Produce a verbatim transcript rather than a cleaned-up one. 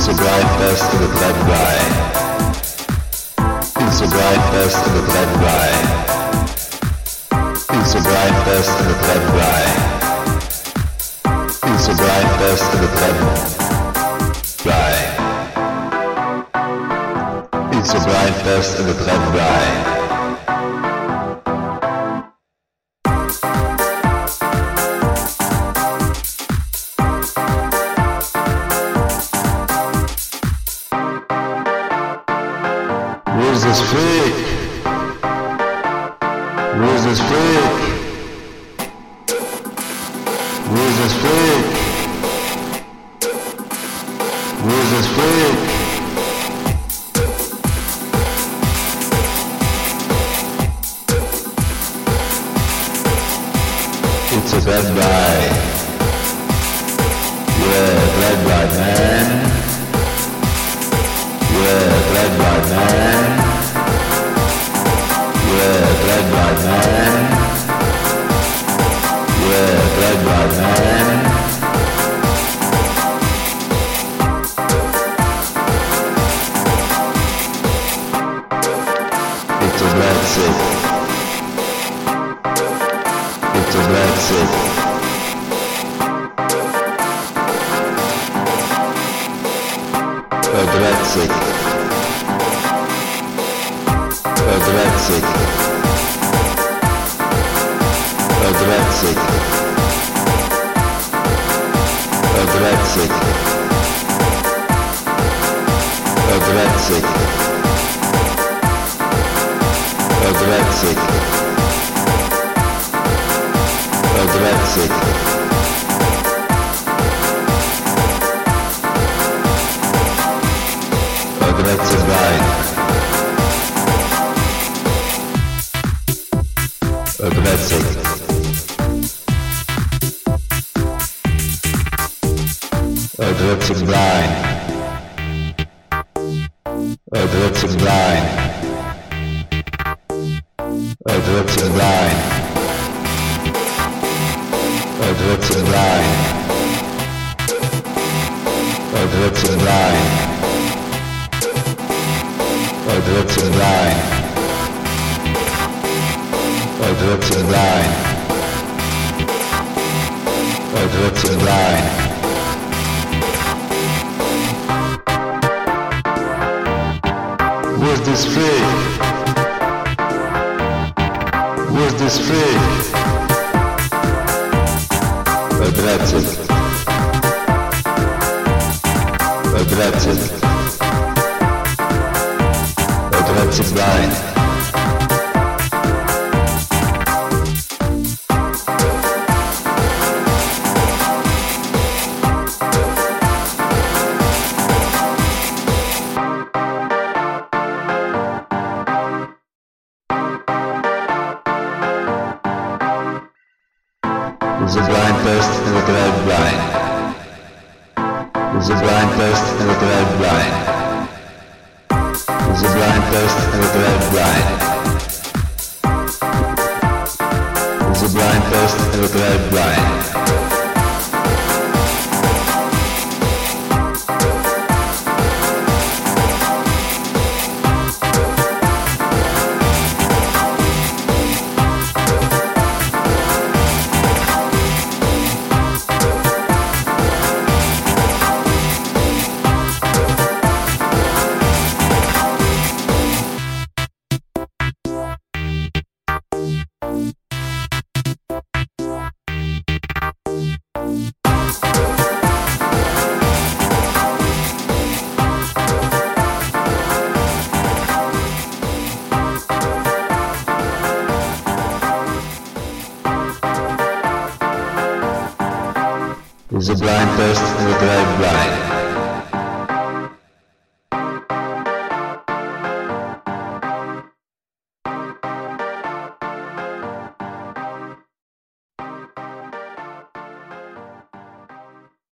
It's a bright fest of the blood bride. It's a bright fest of the blood bride. It's a bright fest of the blood bride. It's a bright fest of the blood bride. It's a bright fest of the blood bride. Who's this freak? Who's this freak? Who's this freak? Who's this freak? It's a bad guy. Yeah, bad guy, man. Yeah, bad guy, man. Yeah, bad guy, man. Yeah, bad guy, man. It's a blood sick. It's a blood sick. A blood sick. A blood sick. A blood sick. A blood sick. A blood sick. A blood sick. A blood sick. A blood sick bride. A blood sick. A blood sick blind. A blood sick blind. A blood sick blind. A blood sick blind. A blood sick blind. A blood sick blind. A blood sick blind. A blood sick blind. Where's this freak? Where's this freak? A blood sick. A blood sick. A blood sick blind. There's a blind first and a blood blind. There's a blind first and a blood blind. There's a blind first and a blood blind. There's a blind first and a blood blind. There's a blind first and a blood blind.